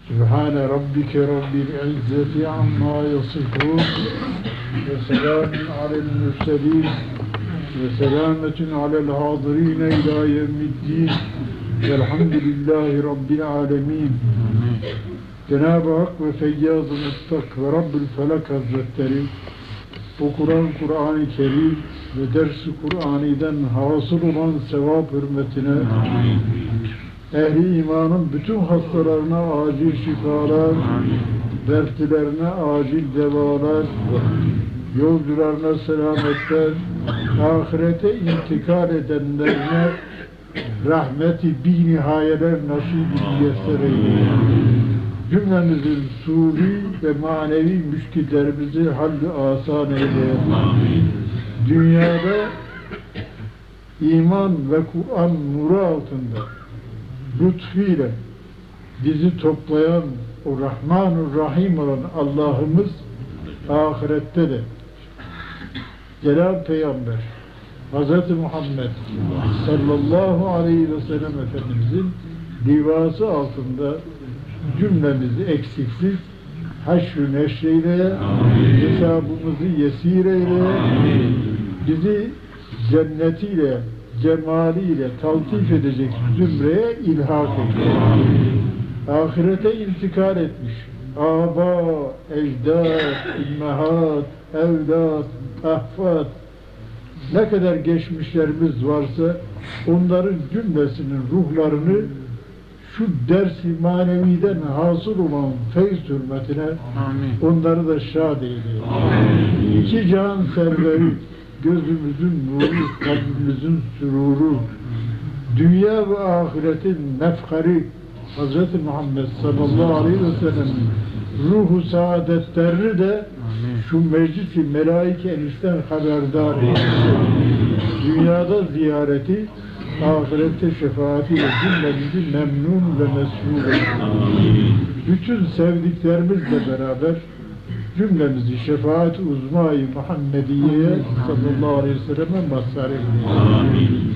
Sübhane rabbike rabbil izzeti amma yasifun ve selamun alel mürselin ve selametun alel hadirine ila yevmiddin velhamdülillahi rabbil alemin. Cenab-ı Hak ve Feyyaz-ı Mustak ve Rabbül Felak Hazretleri bu Kur'an-ı Kerim ve ders-i Kur'ani'den hasıl olan sevap hürmetine ehli imanın bütün hastalarına acil şifalar, dertlilerine acil devalar, yolcularına selametler, ahirete intikal edenlerine rahmeti bi nihayeler nasip-i müyesser eylesin. Cümlemizin suri ve manevi müşkillerimizi hall-i asan eylesin. Dünyada iman ve Kur'an nuru altında lütfuyla bizi toplayan o Rahman-ı Rahim olan Allah'ımız ahirette de Celal Peygamber Hz. Muhammed sallallahu aleyhi ve sellem Efendimizin livası altında cümlemizi eksiksiz haşr-ı neşreyle, hesabımızı yesir eyle, bizi cennetiyle, cemaliyle taltif edecek zümreye ilhak eyle. Ahirete intikal etmiş âbâ, ecdâd, ümmehat, evlad, ahfad, ne kadar geçmişlerimiz varsa onların cümlesinin ruhlarını şu ders-i maneviden hasıl olan feyz hürmetine onları da şad eyle. İki can serveri, gözümüzün nuru, kalbimizin süruru, dünya ve ahiretin mefkari Hz. Muhammed sallallahu aleyhi ve sellem'in ruhu saadetlerini de şu meclis-i melaike-enişten haberdar eylesin. Dünyada ziyareti, ahirette şefaatiyle cümlemizi memnun ve mesrur eylesin. Bütün sevdiklerimizle beraber cümlemizi şefaat-i uzma-i Muhammediye'ye sallallahu aleyhi ve sellem'e mazhar eylesin.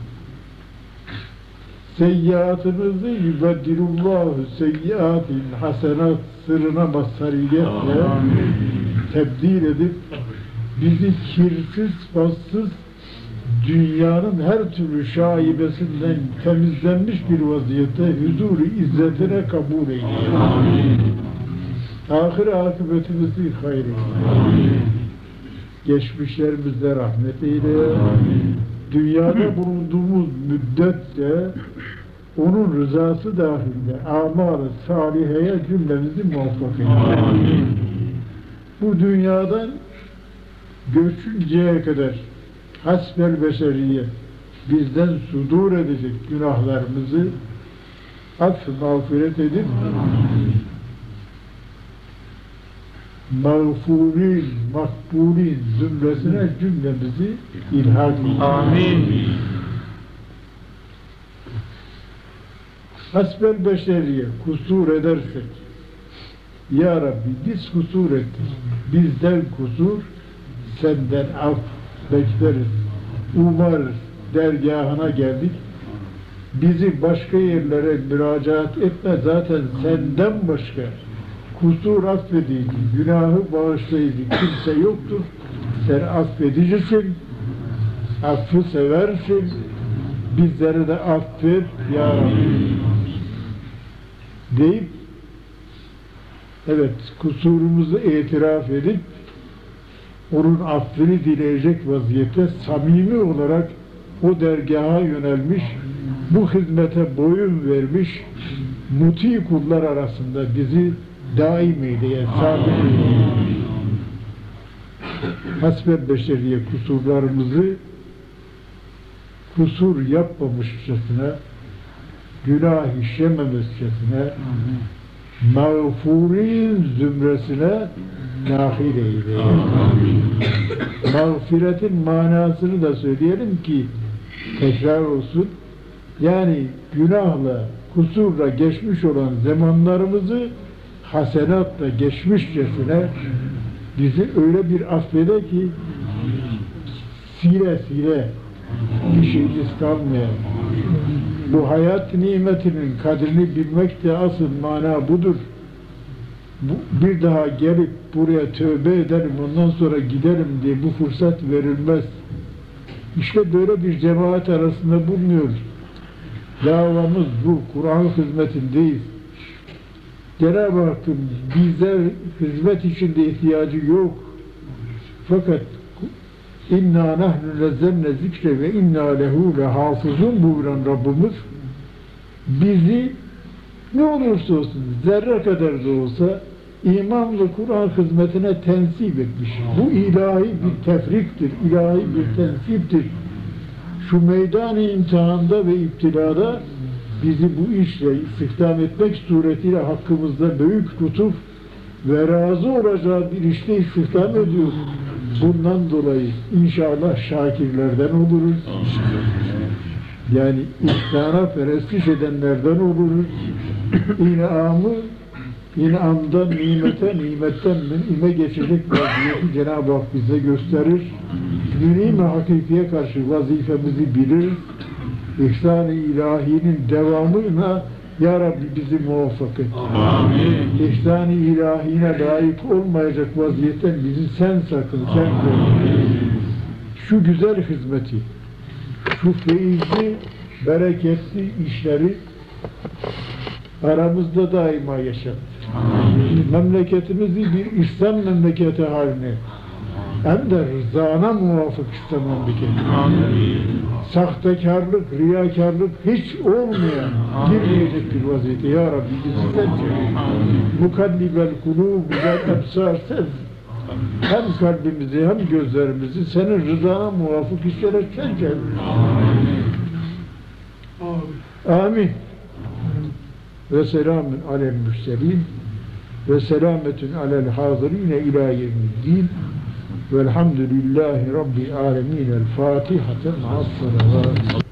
Seyyiatımızı yübeddilullahu seyyiatin hasenat sırrına mazhariyetle tebdil edip bizi kirsiz, bassız dünyanın her türlü şaibesinden temizlenmiş bir vaziyette huzur-u izzetine kabul eylesin. Ahir akıbetimizi hayır eyle. Geçmişlerimizde rahmet eyle. Dünyada bulunduğumuz müddetçe onun rızası dahilinde amal-ı saliheye cümlemizi muvaffak eyle. Bu dünyadan göçünceye kadar hasbel beşeriye bizden sudur edecek günahlarımızı affı mağfiret edip mağfurin, makbulin zümresine cümlemizi ilhak edin. Amin. Hasbel beşeriye kusur edersek, Ya Rabbi biz kusur ettik, bizden kusur, senden af bekleriz, umarız, dergahına geldik, bizi başka yerlere müracaat etme, zaten senden başka kusur affedici, günahı bağışlayıcı kimse yoktur. Sen affedicisin, affı seversin, bizlere de affet Ya Rabbi deyip, evet kusurumuzu itiraf edip onun affını dileyecek vaziyette samimi olarak o dergaha yönelmiş, bu hizmete boyun vermiş muti kullar arasında bizi daim eyleye, sabit eyleye. Hasbel beşeriye kusurlarımızı kusur yapmamışçasına, günah işlememişçasına, mağfurin zümresine dahil eyleye. Mağfiretin manasını da söyleyelim ki tekrar olsun. Yani günahla, kusurla geçmiş olan zamanlarımızı hasenatla geçmişçesine bizi öyle bir affede ki sile sile bir şeyimiz kalmayan, Bu hayat nimetinin kadrini bilmek de asıl mana budur. Bir daha gelip buraya tövbe edelim, ondan sonra gidelim diye bu fırsat verilmez. İşte böyle bir cemaat arasında bulunuyoruz. Davamız bu, Kur'an hizmetindeyiz. Cenab-ı Hakk'ın bize hizmet içinde ihtiyacı yok. Fakat İnna nahnu nezzemne zikre ve inna lehu lehafızun buyuran Rabbimiz bizi ne olursa olsun zerre kadar da olsa iman ve Kur'an hizmetine tensip etmiş. Bu ilahi bir tefriktir, ilahi bir tensiptir. Şu meydan-ı imtihanda ve iptilada bizi bu işle istihdam etmek suretiyle hakkımızda büyük lütuf ve razı olacağı bir işte istihdam ediyor. Bundan dolayı inşallah şakirlerden oluruz. Yani ihsana perestiş edenlerden oluruz. İnamdan nimete, nimetten münime geçecek vaziyeti Cenab-ı Hak bize gösterir. Münime hakikiye karşı vazifemizi bilir. İhsan-ı ilahinin devamına Ya Rabbi bizi muvaffak et. Amin. İhsan-ı ilahine layık olmayacak vaziyetten bizi sen sakın, sen koru. Şu güzel hizmeti, şu feyizli, bereketli işleri aramızda daima yaşat. Memleketimizi bir İslam memleketi haline, hem de rızana muvafık İslam memleketi. Sahtekarlık, riyakarlık hiç olmayan, girmeyecek bir vaziyette. Ya Rabbi bizi sen çevir. Mukallibel kulûb vel ebsâr sen. Hem kalbimizi hem gözlerimizi senin rızana muvafık işlere sen çevir. Amin. Ve selamun alel mürselin ve selametun alel hazirine ilâ yevmiddin. Velhamdülillahi Rabbil alemin. El Fatiha.